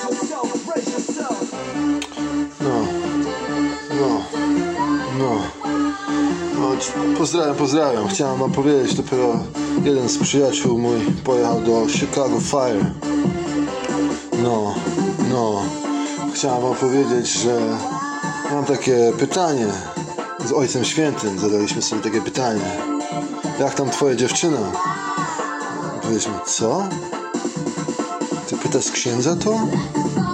Pozdrawiam. Chciałem wam powiedzieć, dopiero jeden z przyjaciół mój pojechał do Chicago Fire. Chciałem wam powiedzieć, że mam takie pytanie. Z Ojcem Świętym zadaliśmy sobie takie pytanie. Jak tam twoja dziewczyna? Powiedzmy, co? Ty pytasz księdza to?